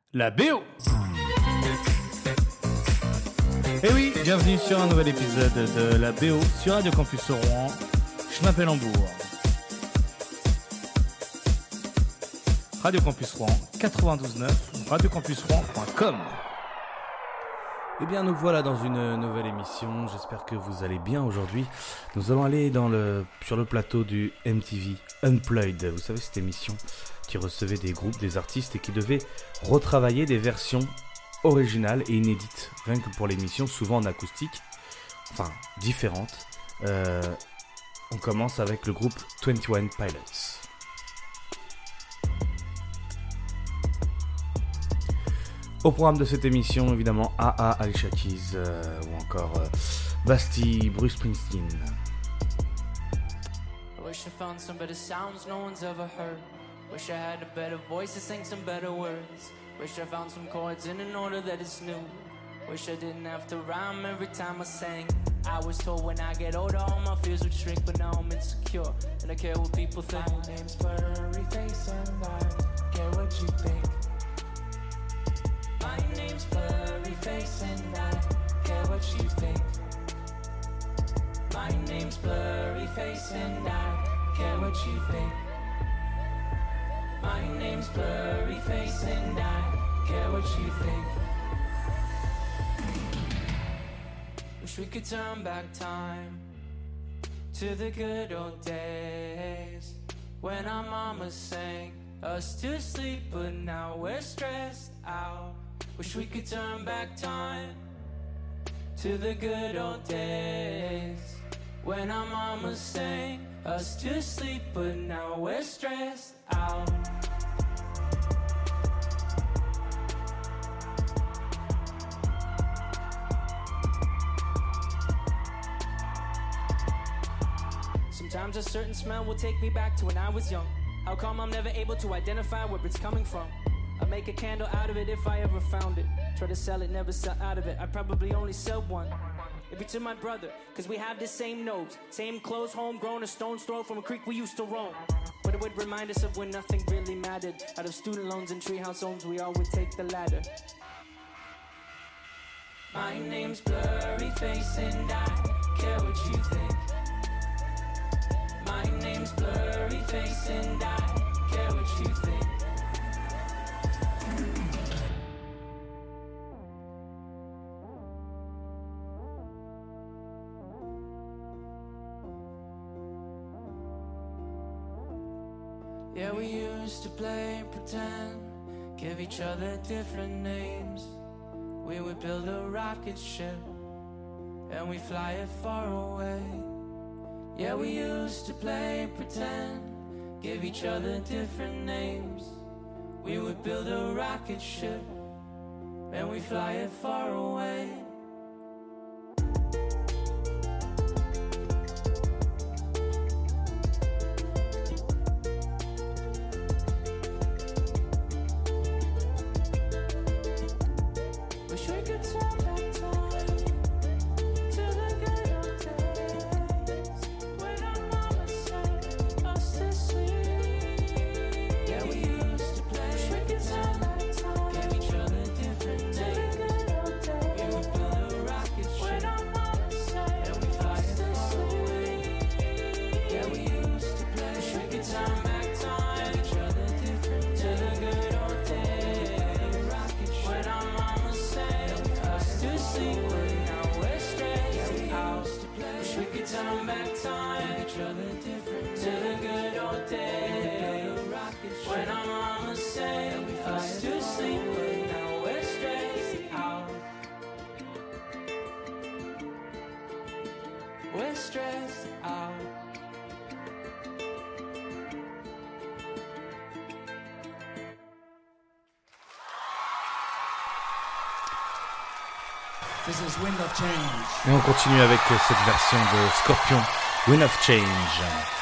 la BO. Et oui, bienvenue sur un nouvel épisode de la BO sur Radio Campus Rouen. Je m'appelle Hambourg. Radio Campus Rouen 92.9, radiocampusrouen.com. Eh bien, nous voilà dans une nouvelle émission. J'espère que vous allez bien aujourd'hui. Nous allons aller sur le plateau du MTV Unplugged. Vous savez, cette émission qui recevait des groupes, des artistes et qui devait retravailler des versions originales et inédites. Rien que pour l'émission, souvent en acoustique, enfin différentes. On commence avec le groupe 21 Pilots. Au programme de cette émission, évidemment, A.A. Alicia Keys ou encore Bastille, Bruce Springsteen. I wish I found some better sounds no one's ever heard. Wish I had a better voice to sing some better words. Wish I found some chords in an order that is new. Wish I didn't have to rhyme every time I sang. I was told when I get older all my fears would shrink, but now I'm insecure and I care what people think. My name's Blurry Face and I care what you think. My name's Blurry Face and I care what you think. My name's Blurry Face and I care what you think. My name's Blurry Face and I care what you think. Wish we could turn back time to the good old days when our mama sang us to sleep, but now we're stressed out. Wish we could turn back time to the good old days when our mama sang us to sleep, but now we're stressed out. Sometimes a certain smell will take me back to when I was young. How come I'm never able to identify where it's coming from? I'd make a candle out of it if I ever found it. Try to sell it, never sell out of it. I'd probably only sell one. Maybe to my brother, cause we have the same nose, same clothes, homegrown, a stone's throw from a creek we used to roam. But it would remind us of when nothing really mattered. Out of student loans and treehouse homes, we all would take the ladder. My name's Blurry Face and I care what you think. My name's Blurry Face and I care what you think. Yeah, we used to play pretend, give each other different names. We would build a rocket ship and we fly it far away. Yeah, we used to play pretend, give each other different names. We would build a rocket ship and we fly it far away. This is Wind of Change. Et on continue avec cette version de Scorpion, Wind of Change.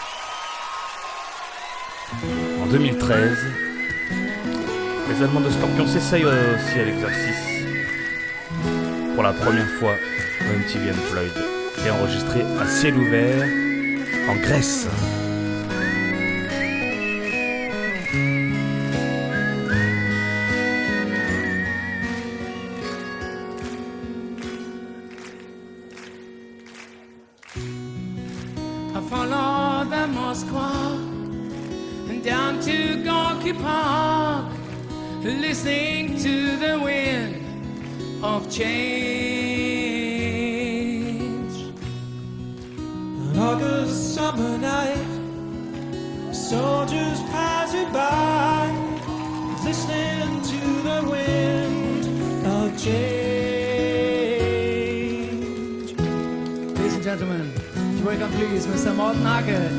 En 2013, les Allemands de Scorpion s'essayent aussi à l'exercice. Pour la première fois, le MTV Unplugged est enregistré à ciel ouvert en Grèce. Square and down to Gorky Park, listening to the wind of change. An August summer night, soldiers passing by, listening to the wind of change. Ladies and gentlemen, welcome please Mr. Morten Hackett.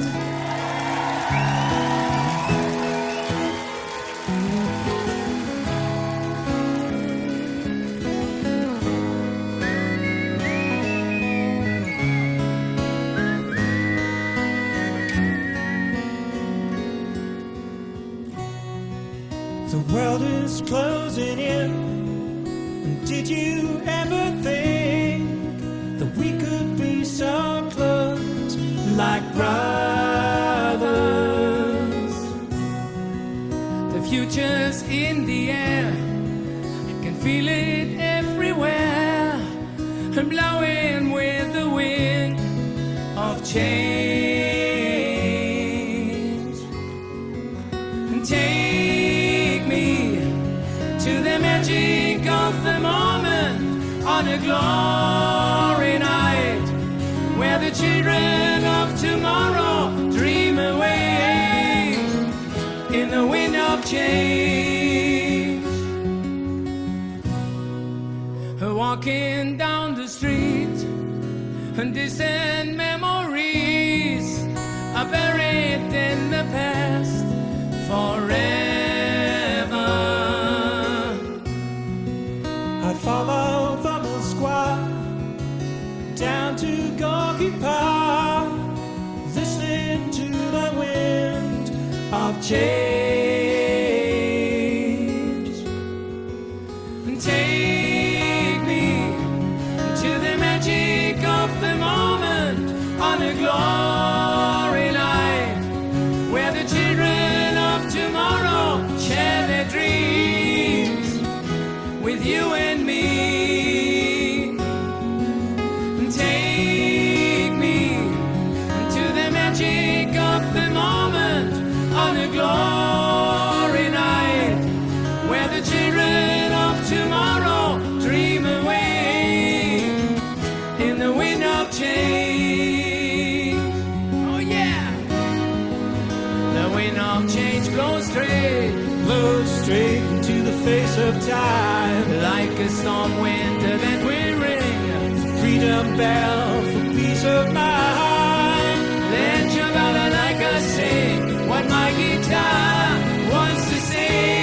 The world is closing in, and did you ever think that we could be so close, like brothers? The future's in the air, I can feel it everywhere, I'm blowing with the wind of change. And take me to the magic of the moment on a glory night, where the children of tomorrow dream away in the wind of change. Walking down the street, and distant memories are buried in the past forever. I follow Vamos Square down to Gorky Park, listening to the wind of change. And take me to the magic of the moment on a glory night, where the children of tomorrow share their dreams with you and me. And take me to the magic of the moment on a glory night, where the children of tomorrow dream away in the wind of change. Oh yeah, the wind of change blows straight into the face of time, like a storm wind that will ring the freedom bell for peace of mind. Let your ballad like us sing what my guitar wants to sing.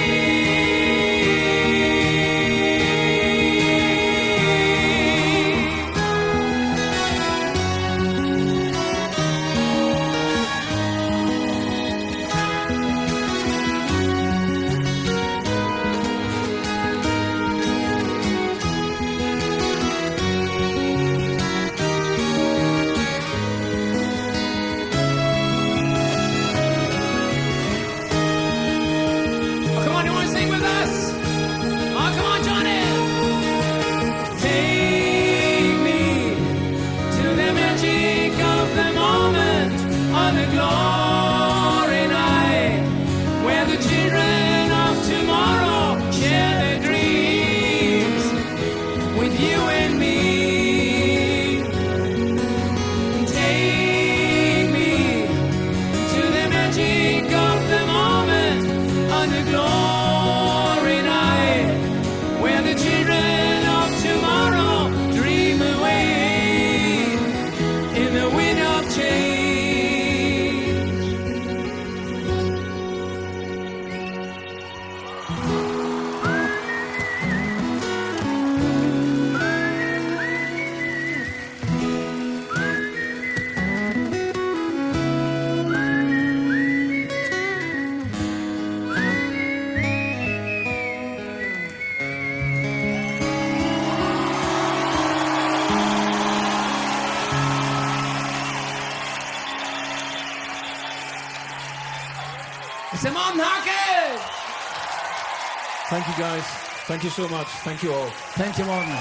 C'est Morten Hackett! Thank you guys. Thank you so much. Thank you all. Thank you, Morten.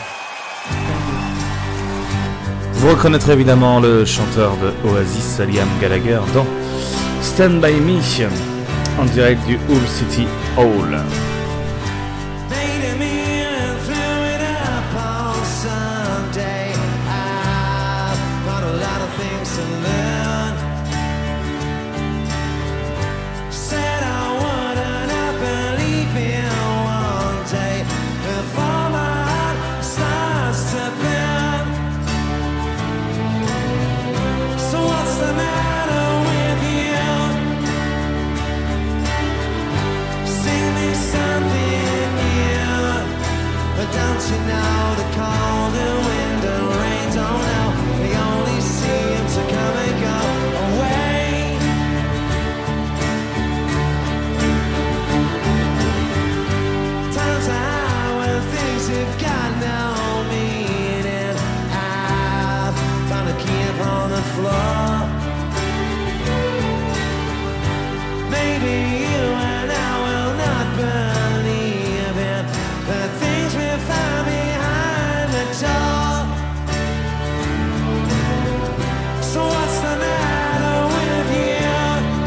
Vous reconnaîtrez évidemment le chanteur de Oasis, Liam Gallagher, dans Stand By Me en direct du Hull City Hall. Don't you know the cold and wind and rain don't know? They only seem to come and go away. Times are hard when things have got no meaning. I've found a key upon the floor. Maybe you and I will not believe in the things we found behind the door. So what's the matter with you?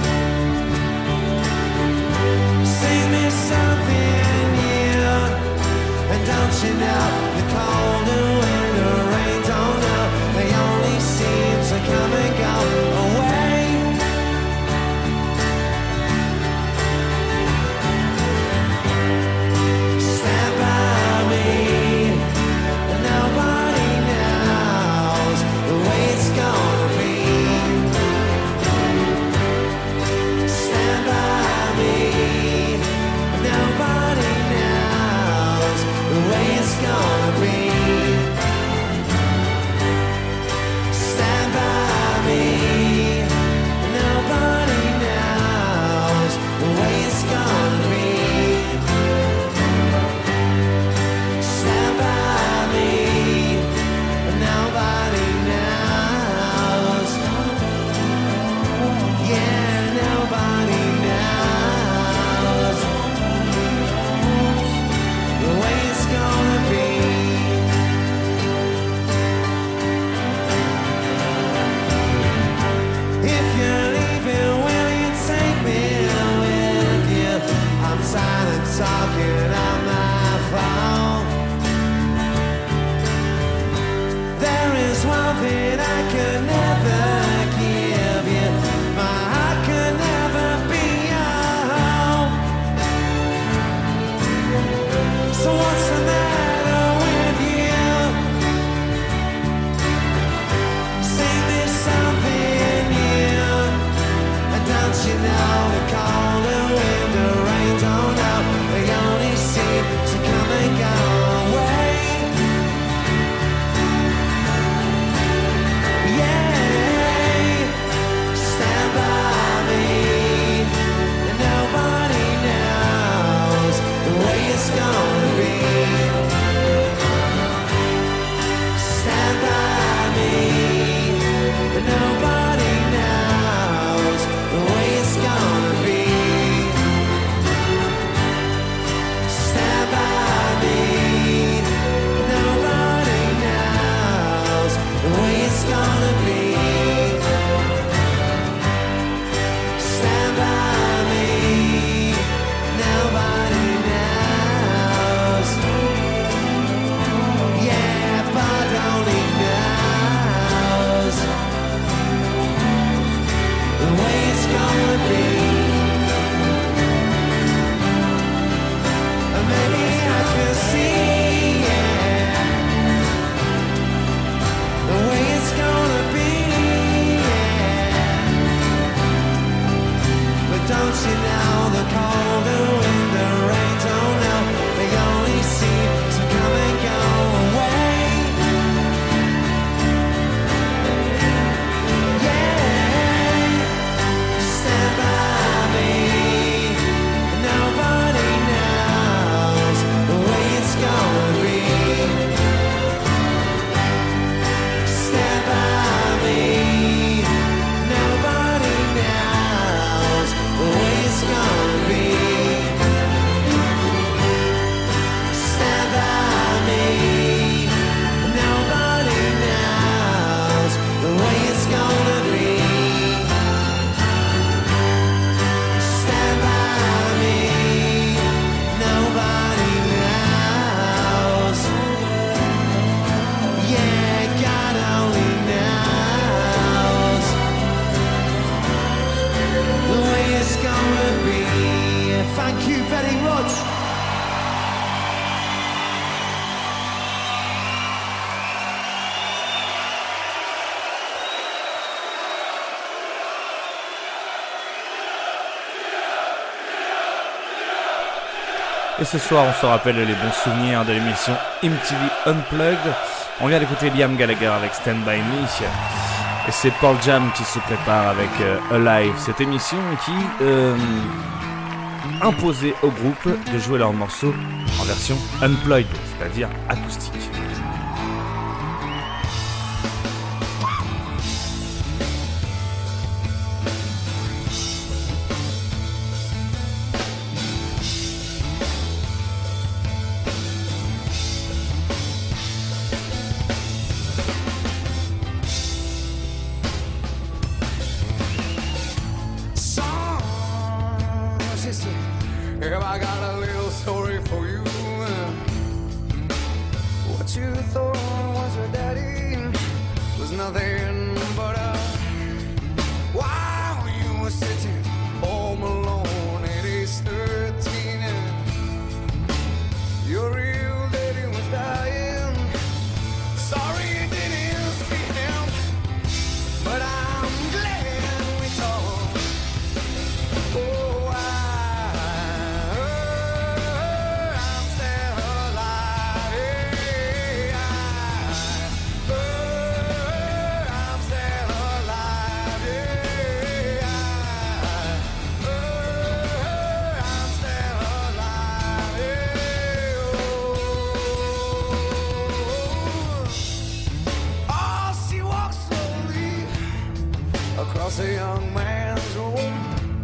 Sing me something new. And don't you know the cold and wind and rain don't know? They only seem to come and go away. Nobody knows the way it's gonna Et ce soir, on se rappelle les bons souvenirs de l'émission MTV Unplugged. On vient d'écouter Liam Gallagher avec Stand By Me. Et c'est Pearl Jam qui se prépare avec Alive, cette émission qui imposait au groupe de jouer leurs morceaux en version unplugged, c'est-à-dire acoustique. If I got a little story for you, what you thought was your daddy was nothing but a while you were sitting home alone at age 13, your real daddy was dying. Sorry you didn't see him, but I'm glad we talked. Oh, across a young man's room,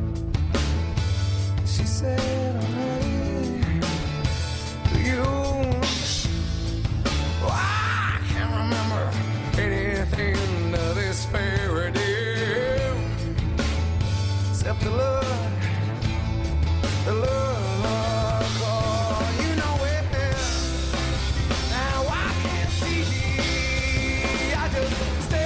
she said, "Honey, do you?" Oh, I can't remember anything to this fairy tale except the love. Oh, you know it. Now I can't see. I just stay.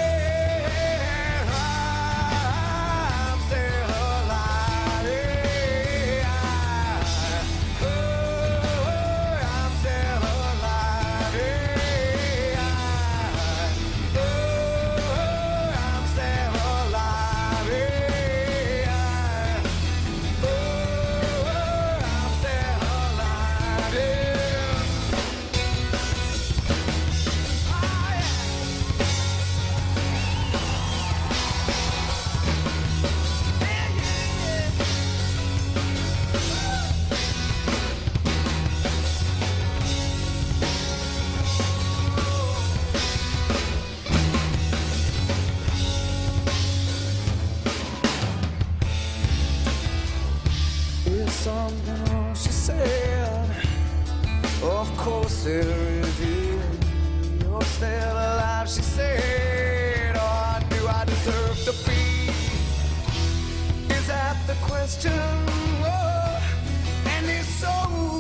Something she said, of course there is you. You're still alive, she said. Or do I deserve to be? Is that the question? Oh, and if so,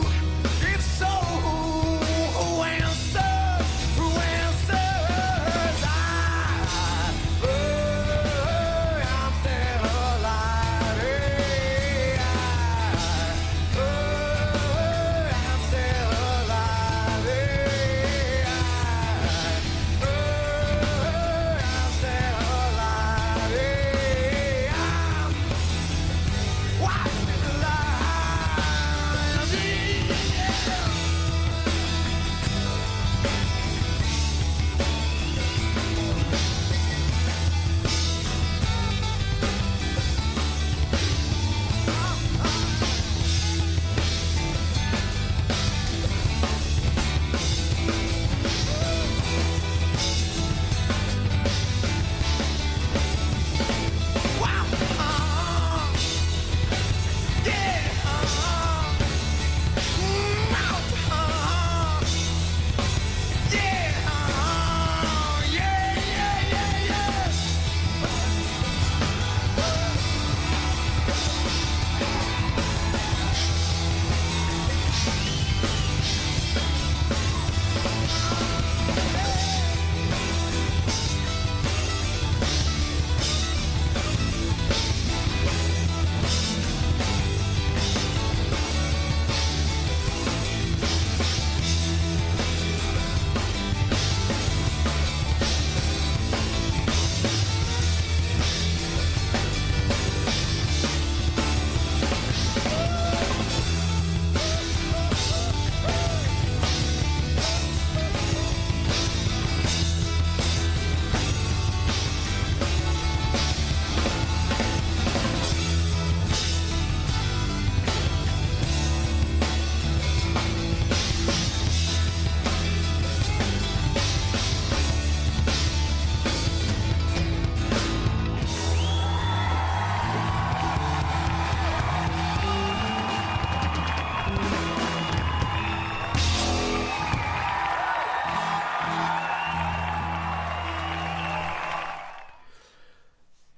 who answers? Who answers? I'm still alive. I'm still alive. I'm still alive. Why?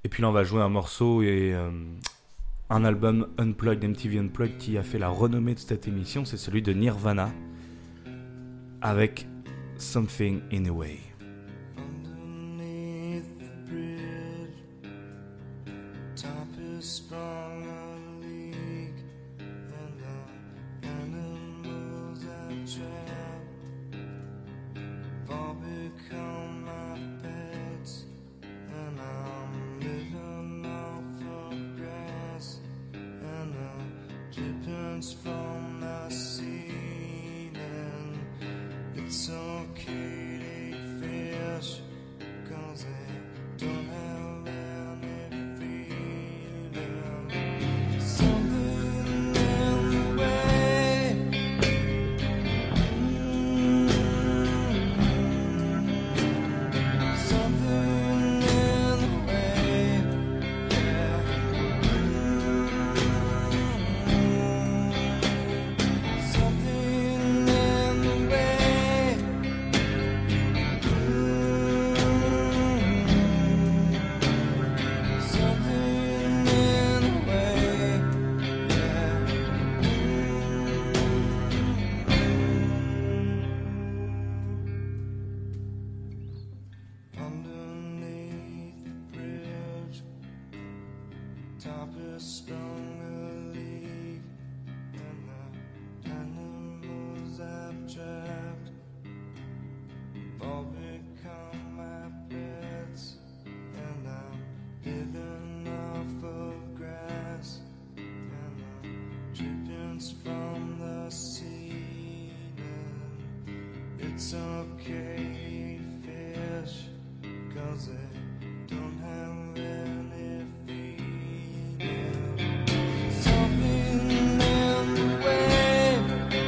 Et puis là, on va jouer un morceau et un album Unplugged, MTV Unplugged, qui a fait la renommée de cette émission. C'est celui de Nirvana, avec Something in a Way. From the ceiling, it's okay to eat fish, 'cause they don't have any feeling. Something in the way, something in the way, yeah. Top is sprung a leak, and the animals abstract all become my pets, and I'm living off of grass, and the drippings from the ceiling. It's okay to eat fish, 'cause they don't have any feet. Something in the way,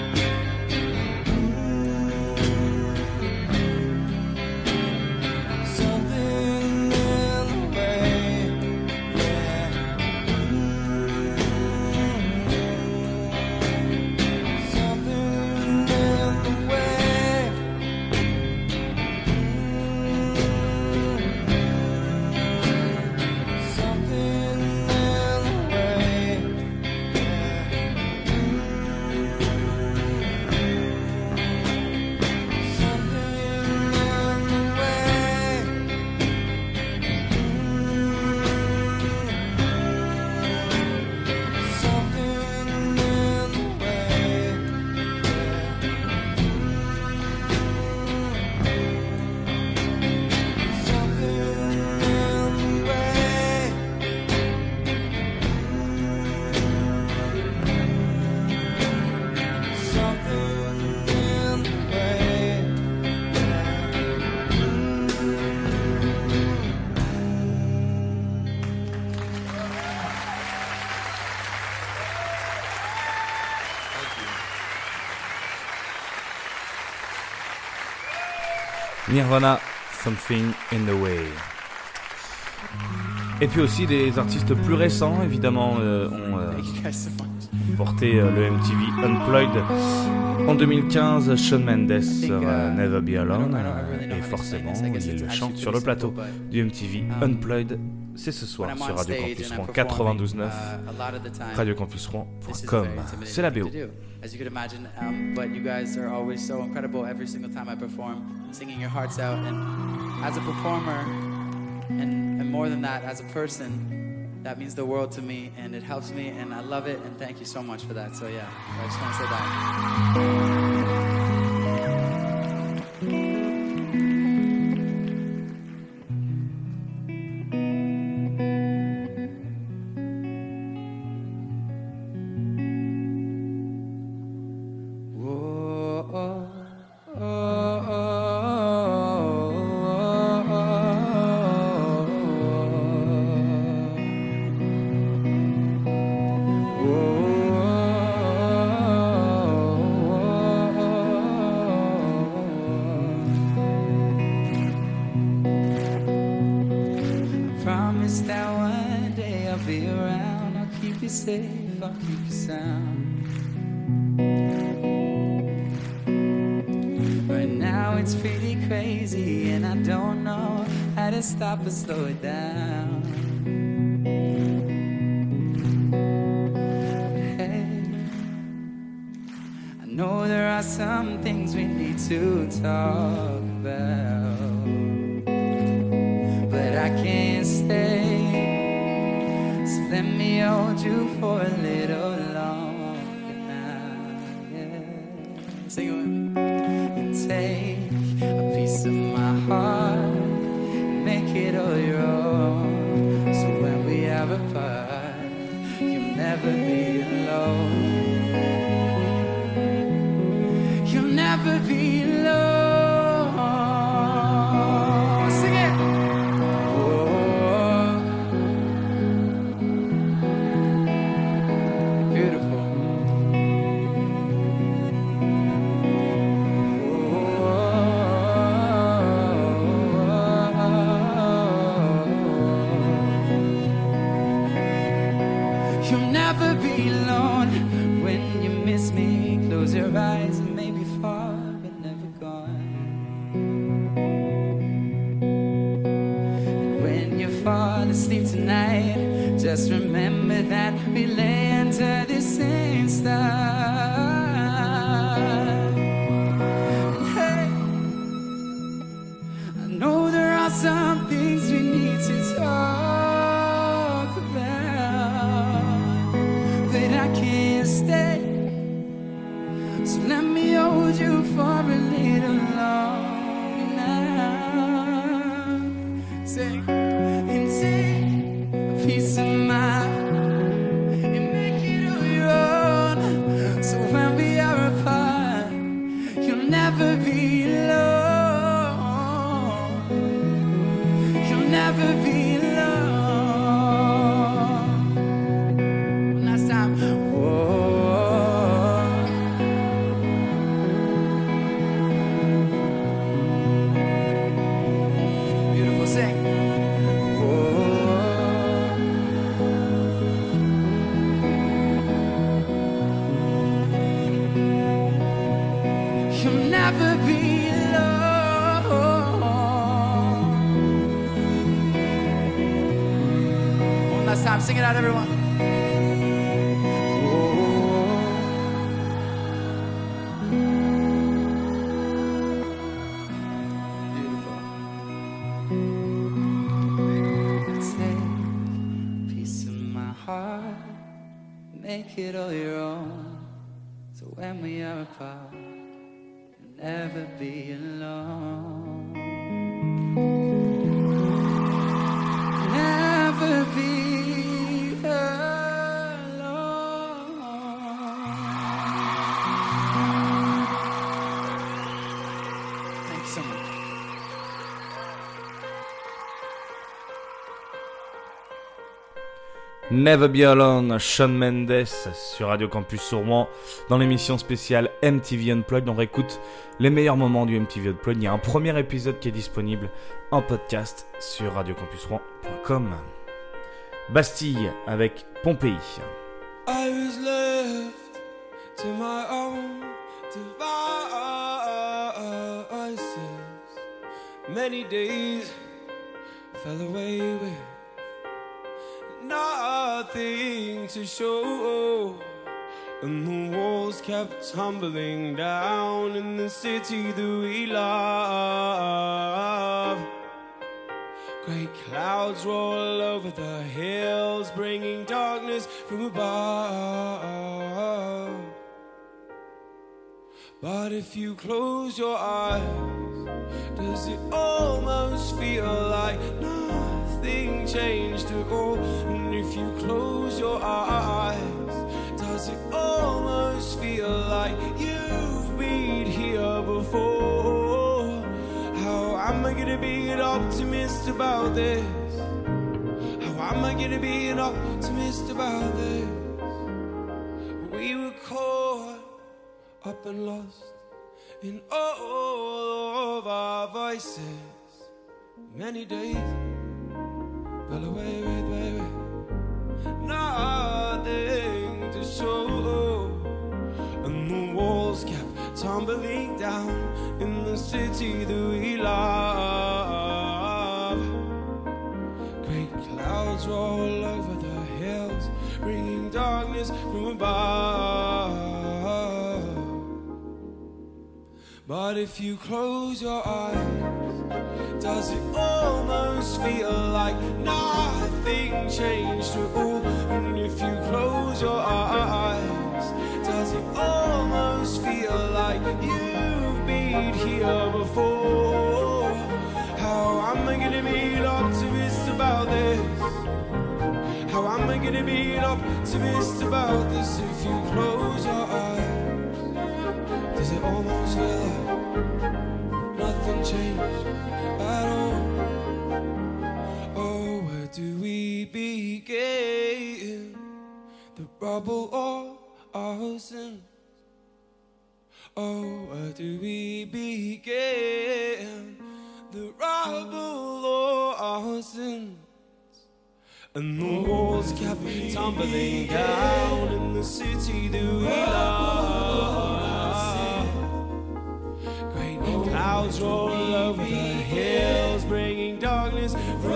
something in the way, yeah. Something in the way. Nirvana, Something in the Way. Et puis aussi des artistes plus récents, évidemment, ont porté le MTV Unplugged. En 2015, Shawn Mendes sur Never Be Alone. Et forcément, il le chante sur le plateau du MTV Unplugged. C'est ce soir sur Radio Campus Rouen 92.9, radiocampusrouen.com. C'est la BO. As you could imagine, but you guys are always so incredible every single time I perform, singing your hearts out. And as a performer, and more than that, as a person, that means the world to me, and it helps me, and I love it, and thank you so much for that. So yeah, I just want to say that. Stop and slow it down. are some things we need to talk about, but I can't stay. So let me hold you for a little longer now. Yeah. Sing it with me. And take a piece of my heart and make it all your own. So when we are apart, you'll never be alone. You'll never be alone. Sing it. Oh, beautiful. You'll never be alone when you miss me. Close your eyes and maybe far, but never gone. And when you fall asleep tonight, just remember that we lay under the same star. Hey, I know there are some things we need to talk about, but I can't stay. So let me hold you for a little longer now. Sing and take a piece of mine and make it all your own. So when we are apart, you'll never be alone. You'll never be alone. One last time. Whoa. Beautiful, sing. You'll never be alone. One last time, sing it out, everyone. Beautiful. Take a piece of my heart, make it all your own. So when we are apart, you'll never be alone. Never be alone. Thanks so much. Never Be Alone, Shawn Mendes sur Radio Campus Rouen dans l'émission spéciale MTV Unplugged. On réécoute les meilleurs moments du MTV Unplugged. Il y a un premier épisode qui est disponible en podcast sur radiocampusrouen.com. Bastille avec Pompéi. I was left to my own devices. Many days fell away with nothing to show, and the walls kept tumbling down in the city that we love. Great clouds roll over the hills, bringing darkness from above. But if you close your eyes, does it almost feel like nothing changed at all? And if you close your eyes, does it almost feel like you've been here before? How am I gonna be an optimist about this? How am I gonna be an optimist about this? We were caught up and lost in all of our voices. Many days fell away with nothing to show, and the walls kept tumbling down in the city that we love. Great clouds roll over the hills, bringing darkness from above. But if you close your eyes, does it almost feel like nothing changed at all? And if you close your eyes, does it almost feel like you've been here before? How am I gonna be an optimist about this? How am I gonna be an optimist about this if you close your eyes? Does it almost feel like nothing changed at all? Oh, where do we begin? The rubble or our sins? Oh, where do we begin? The rubble or our sins? And the walls kept tumbling down in the city that we love. Great clouds roll over the hills, bringing darkness from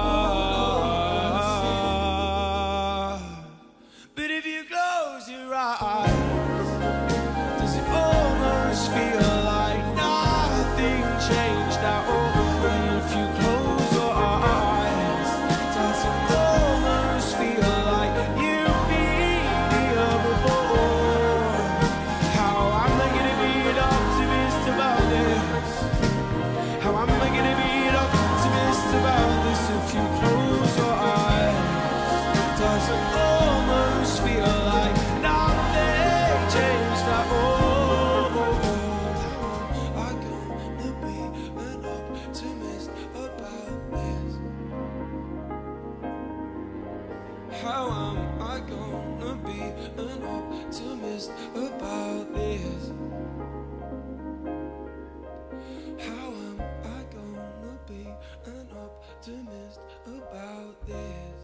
above. But if you close your eyes, does it almost feel like nothing changed at all? And if you close your eyes, does it almost feel like you've been here before? How am I gonna be an optimist about this? How am I gonna be an optimist about this if you close your eyes? Does it almost feel like nothing changed at all? How am I gonna be an optimist about this? How am I gonna be an optimist about this? How am I gonna be an optimist about this?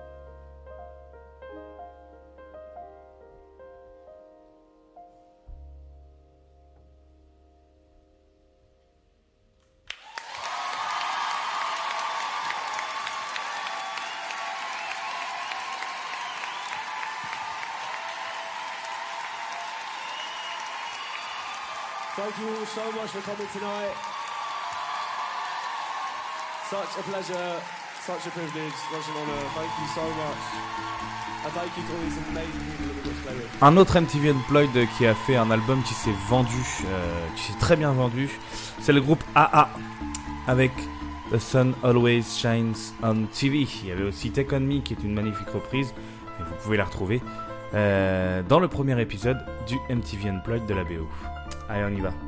Thank you all so much for coming tonight. Such a pleasure, such a privilege, such an honor. Thank you so much. And thank you to all these amazing people that we got to play with. Un autre MTV Unplugged qui a fait un album qui s'est vendu, qui s'est très bien vendu, c'est le groupe AA avec The Sun Always Shines on TV. Il y avait aussi Take On Me qui est une magnifique reprise, et vous pouvez la retrouver dans le premier épisode du MTV Unplugged de la BO. Allez, on y va.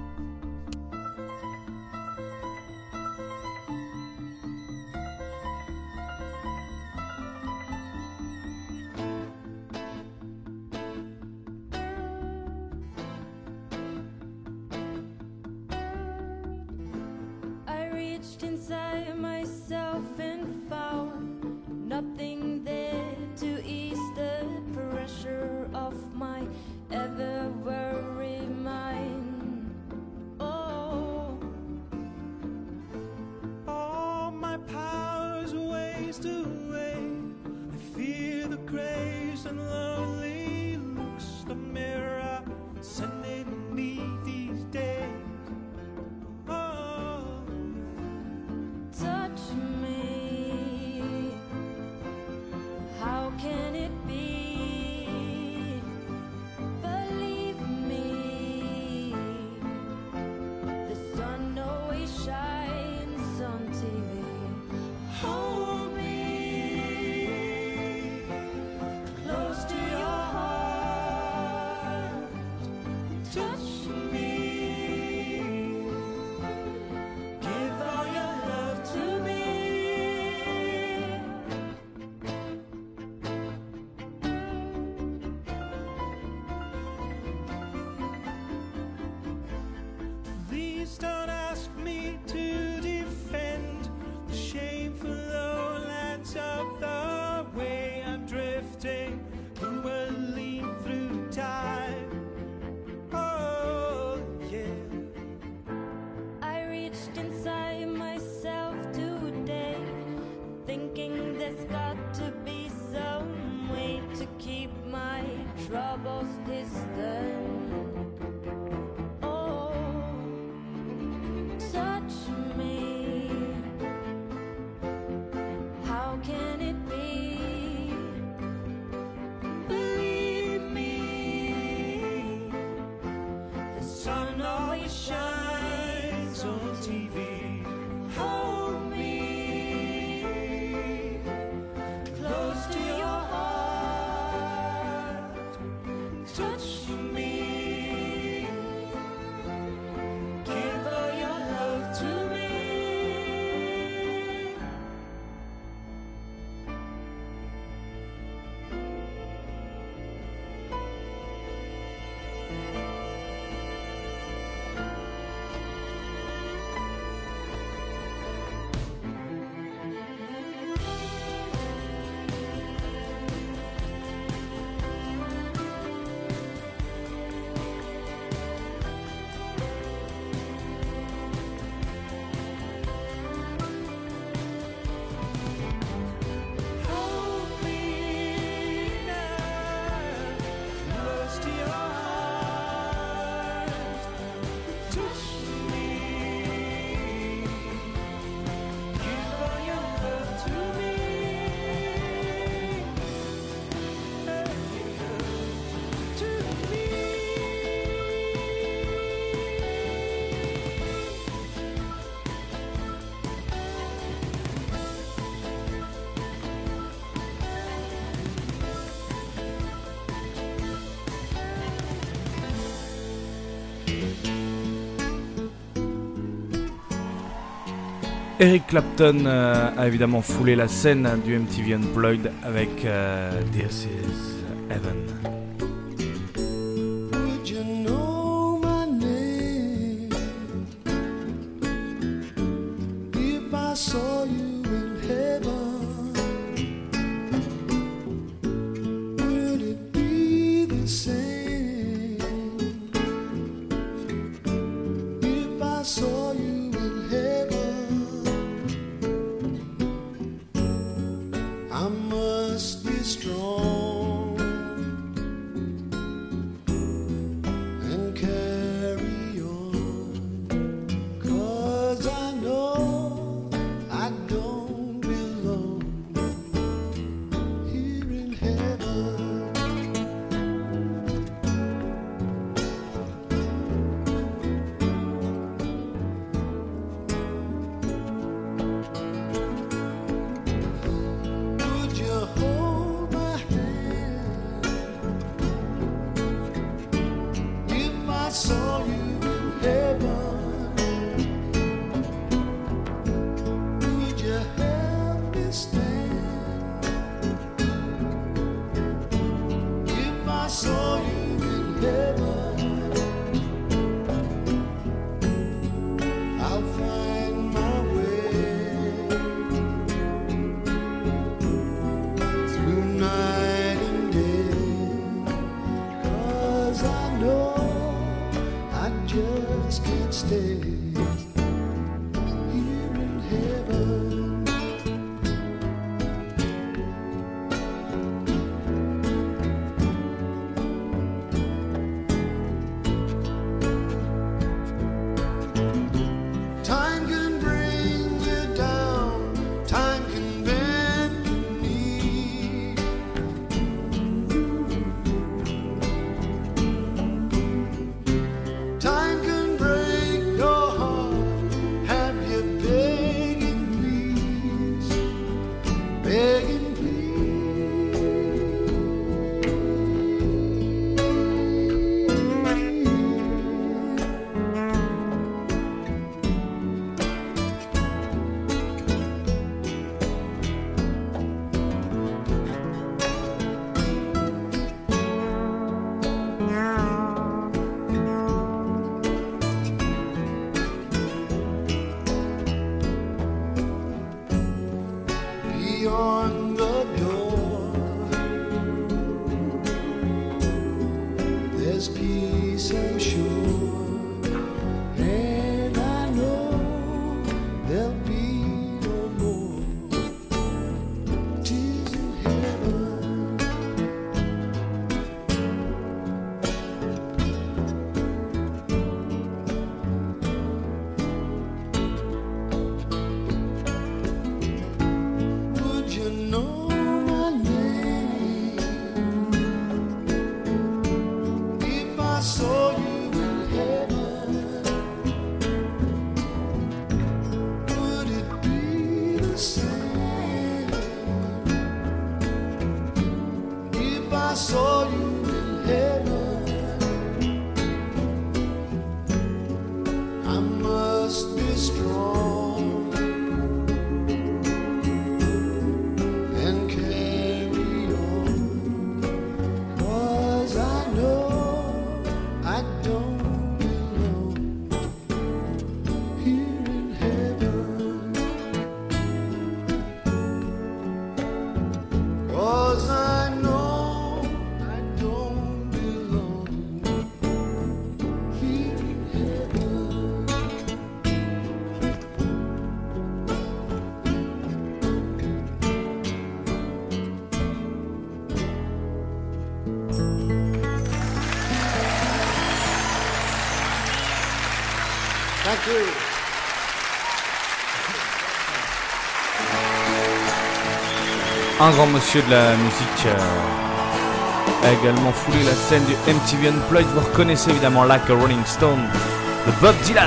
I reached inside myself and found nothing there to ease the pressure of my ever worried mind. Oh, All my powers waste away. I fear the grace and lonely looks the mirror sending me these days. Oh, touch me. How can it be? Believe me, the sun always shines on TV. Hold me close to your heart. Touch me. Give all your love to me. please don't ask me to defend the shameful lowlands of the way I'm drifting, who will lead through time. Oh, yeah. I reached inside myself today, thinking there's got to be some way to keep my troubles distant. Oh, TV. Hold me close to your heart, touch me, give all your love to me. Hold me now, close to your heart, touch me, give all your love to me. To me. Eric Clapton a évidemment foulé la scène du MTV Unplugged avec This Is Heaven. Would you know my name if I saw you in heaven? Would it be the same if I saw you in heaven? I must be strong and carry on, 'cause I know I don't belong here in heaven. Would you hold my hand if I saw you in heaven? Would you help me stand if I saw you in heaven? I'll find my way through night and day, 'cause I know I just can't stay here in heaven. Time can bring you down, time can bend your knee. Time can break your heart, have you begging please, begging beyond the door. There's peace, I'm sure, and I know there'll be no more tears in heaven. Would you just be strong and carry on, 'cause I know I don't belong here in heaven, 'cause I know I don't belong here in heaven. Thank you. Un grand monsieur de la musique a également foulé la scène du MTV Unplugged. Vous reconnaissez évidemment Like a Rolling Stone de Bob Dylan.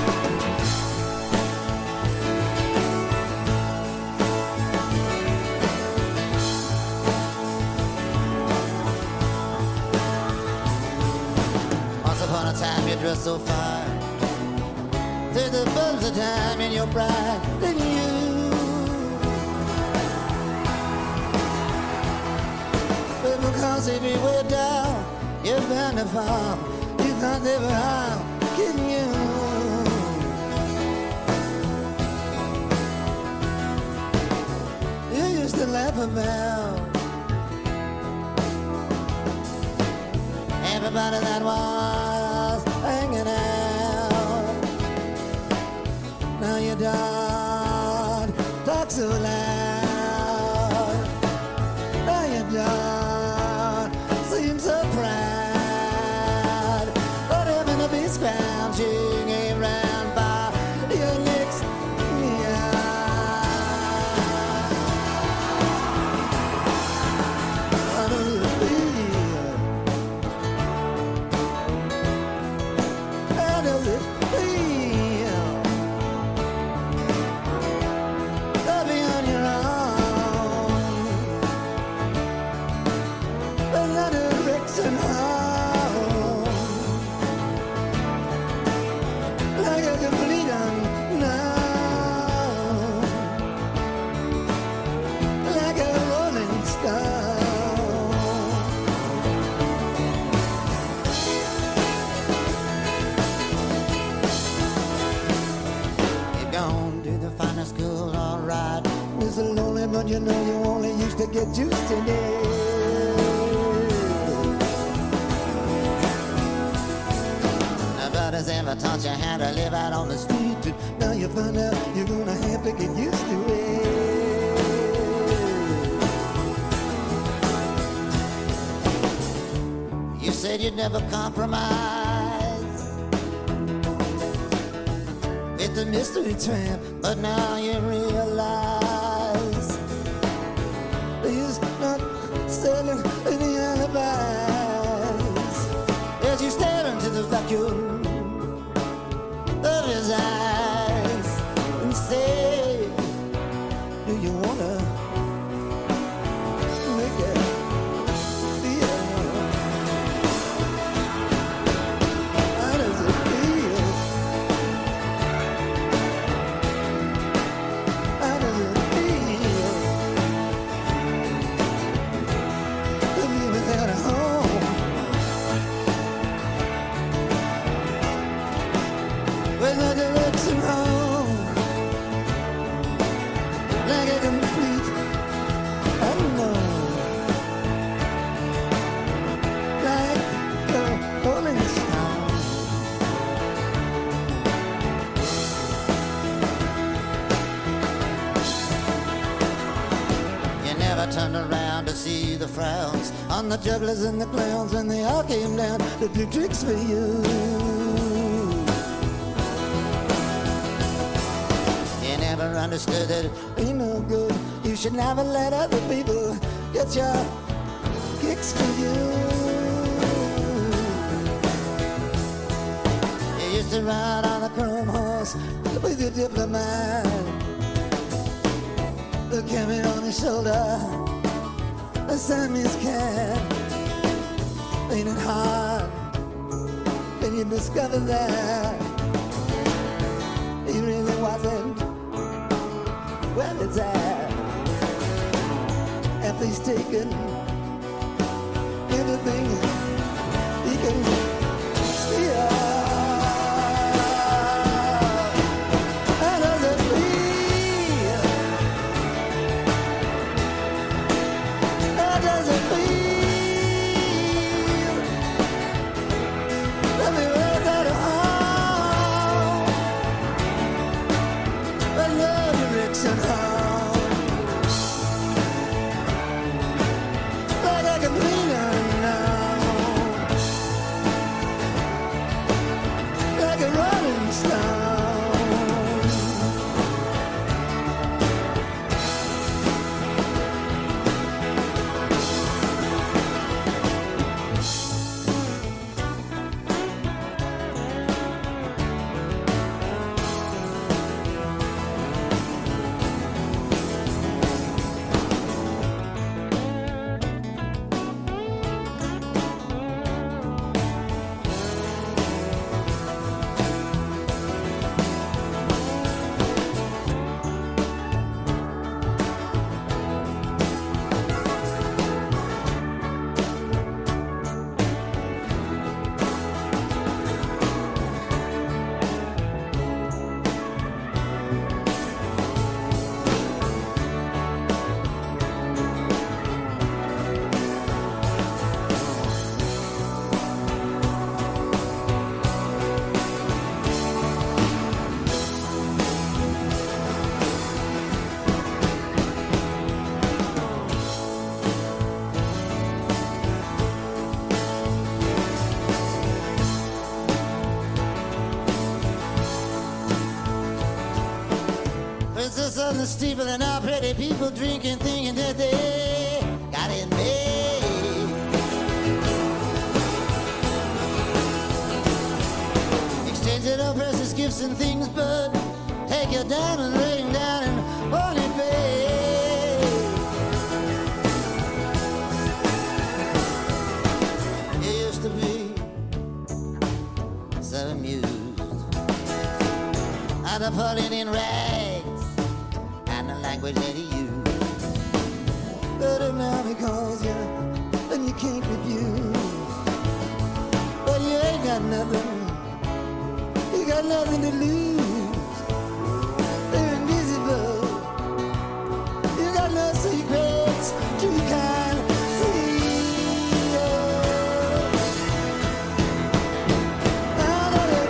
Once upon a time you dressed so fine, through the bulbs of time in your pride, didn't you? But because if you were down, you're bound to fall. You can't live around, can you? You used to laugh about everybody that was hanging out. Now you don't talk so loud. Now you don't seem so proud. But having to be scrounging around by your next meal. How do you feel? How does it feel to be on your own? But not a direction home, like a complete unknown, like a rolling stone. You're gone to the finest school, alright. It's a lonely, but you know you only used to get used to it. Nobody's ever taught you how to live out on the street. Now you find out you're gonna have to get used to it. You said you'd never compromise with the mystery tramp, but now you realize he's not selling any alibis as you stare into the vacuum of his eyes and say, do you wanna make it feel? How does it feel? How does it feel to be without a home? With no direction home, like a complete unknown, like a rolling stone. You never turned around to see the frowns on the jugglers and the clowns when they all came down to do tricks for you. You never understood that it ain't no good. You should never let other people get your kicks for you. You used to ride on a chrome horse with your diplomat, the carry on his shoulder, a Siamese cat. Ain't it hard when you discover that taken everything he can steal. How does it feel? How does it feel? Let me wear that arm, but no direction home. Like I can lean on now, like a rolling stone. Princess on the steeple and all pretty people drinking, thinking that they got it made. Exchanging all precious gifts and things, but take your diamond ring down and only pay. You used to be so amused at the pulling in rags and the language that he used. But if now he calls you and you can't refuse, but you ain't got nothing, you got nothing to lose. They're invisible, you got no secrets to kind of see. How does it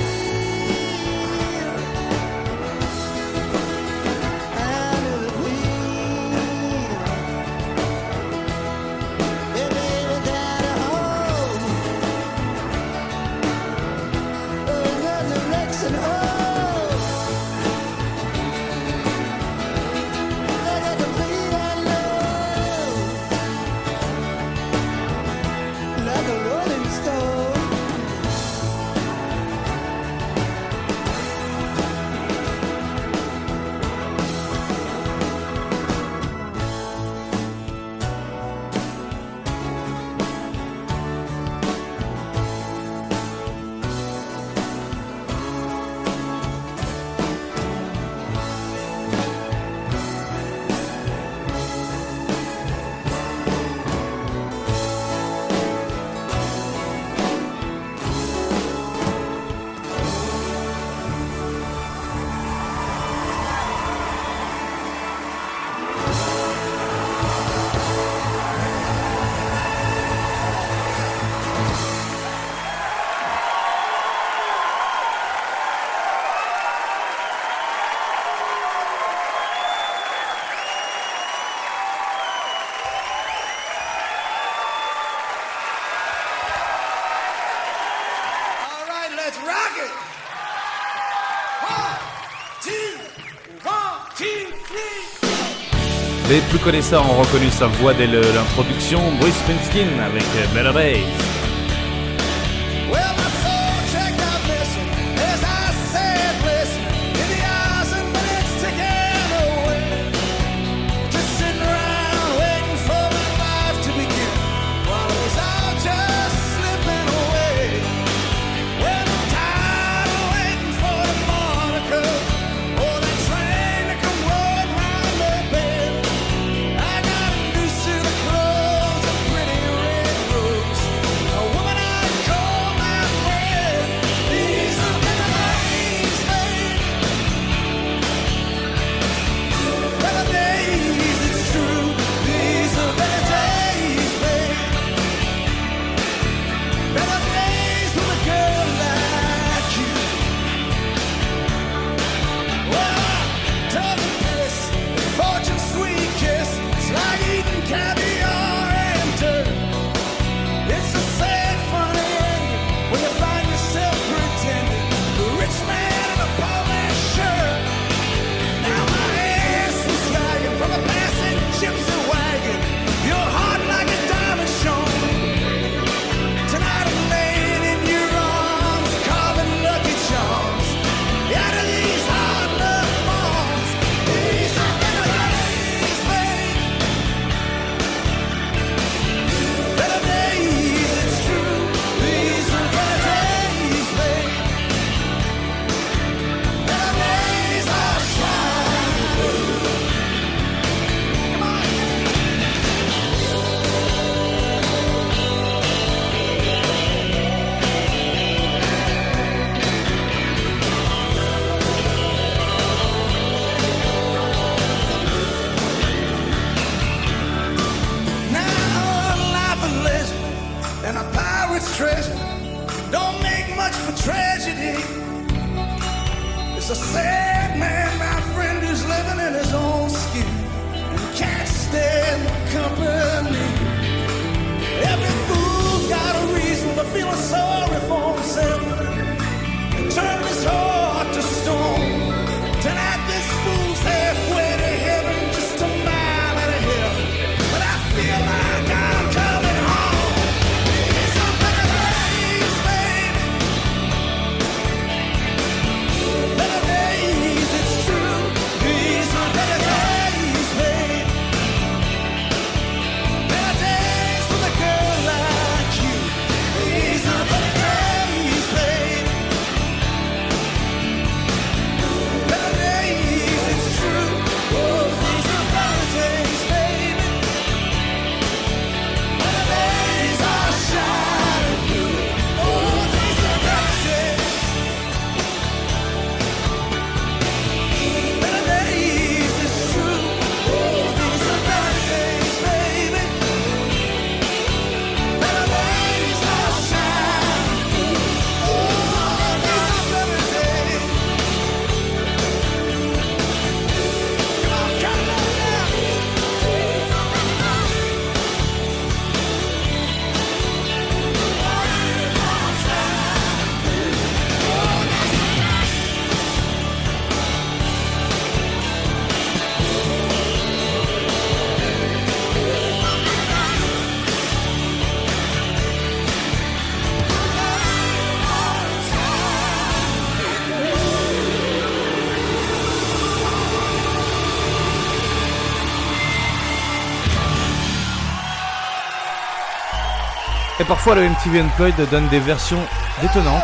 feel? How does it feel? Yeah, baby, got a home, a resurrection home. Like a complete unknown, like a rolling stone. All right, let's rock it. 1, 2, 3. Les plus connaisseurs ont reconnu sa voix dès l'introduction, Bruce Springsteen avec Better Days. Well, my soul checked out missing as I said, listen, in the eyes and minutes ticking away. Just sitting around waiting for my life to begin while it was all just slipping away. Well, I'm tired of waiting for the Monica or that train to come rolling round the bend. I got a noose to the sad man, my friend, who's living in his own skin and can't stand company. Every fool's got a reason for feeling sorry for himself and turn his heart to stone. Tonight this fool's halfway to heaven, just a mile and a half, but I feel like I'm coming home. These are better days, baby. Better days, it's true. These are better days, baby. Better days with a girl like you. These are better days, baby. Better days, it's true. Oh, these are better days, baby. Better days are shining through. Oh, these are better days. Better days, it's true. Oh, these are better days, baby. Better days are shining through. Oh, these are better days. Come on, come on now. Et parfois le MTV Unplugged donne des versions détonnantes.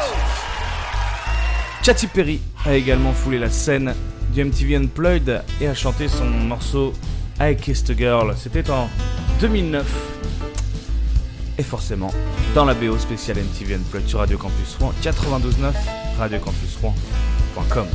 Katy Perry a également foulé la scène du MTV Unplugged et a chanté son morceau I Kissed a Girl. C'était en 2009. Et forcément, dans la BO spéciale MTV Unplugged sur Radio Campus Rouen 92.9, radiocampusrouen.com.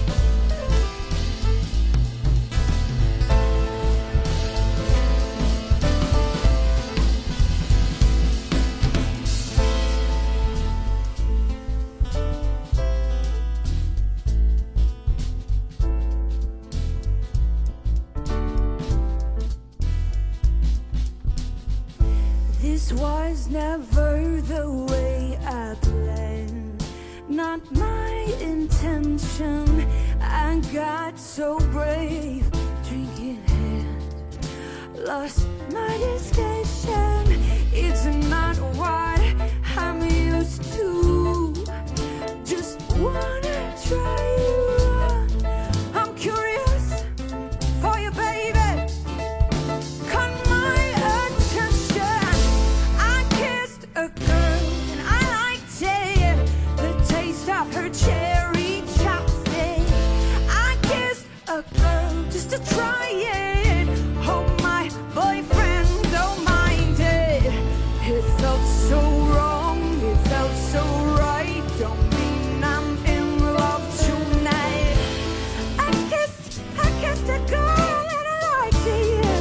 This was never the way I planned, not my intention. I got so brave, drinking hand, lost my discretion. It's not what I'm used to. Just wanna try you. I'm curious for you, baby. Caught my attention. I kissed a girl and I liked it. The taste of her cherry chopstick. I kissed a girl just to try it. Hope my boyfriend don't mind it. It felt so wrong, it felt so right. Don't mean I'm in love tonight. I kissed a girl and I liked it.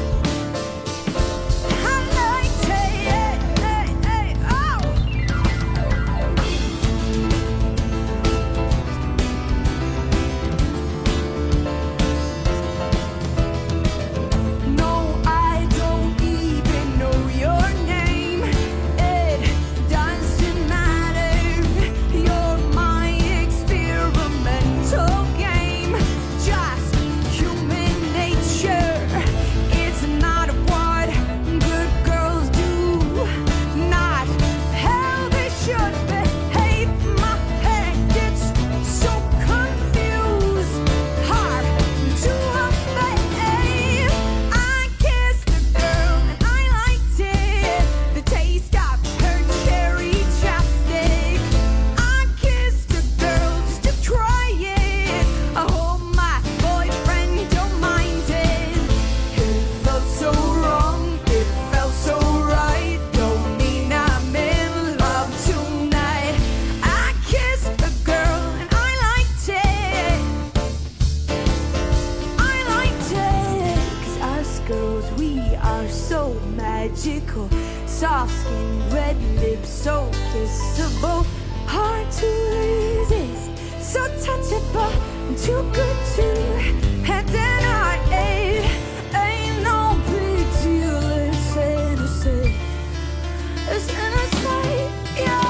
I liked it, oh. No, I don't even know your name. It doesn't matter. You're my experimental game. Just human nature. It's not what good girls do. Not how they should behave. My head gets so confused. Hard to obey. I kissed a girl and I liked it. The taste of her cherry chapstick. I kissed a girl just to try it. I hope my boyfriend don't mind it. It felt so wrong, it felt so right. Don't mean I'm in love tonight. I kissed a girl and I liked it. I liked it. 'Cause us girls, we are so magical. Soft skin, red lips, so kissable. Hard to resist, so touchable. too good to have denied. Ain't no big deal, it's innocent. It's innocent, yeah.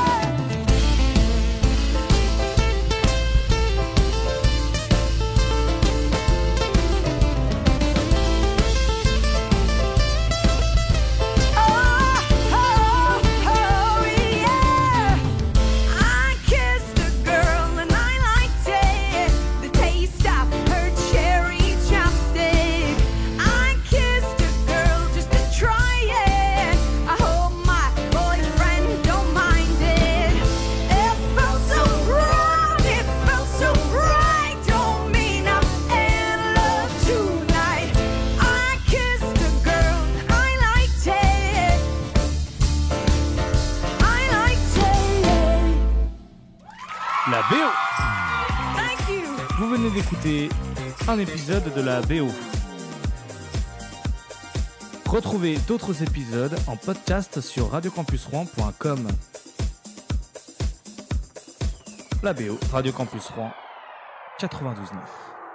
La BO. Vous venez d'écouter un épisode de la BO. Retrouvez d'autres épisodes en podcast sur radiocampusrouen.com. La BO, Radio Campus Rouen 92.9.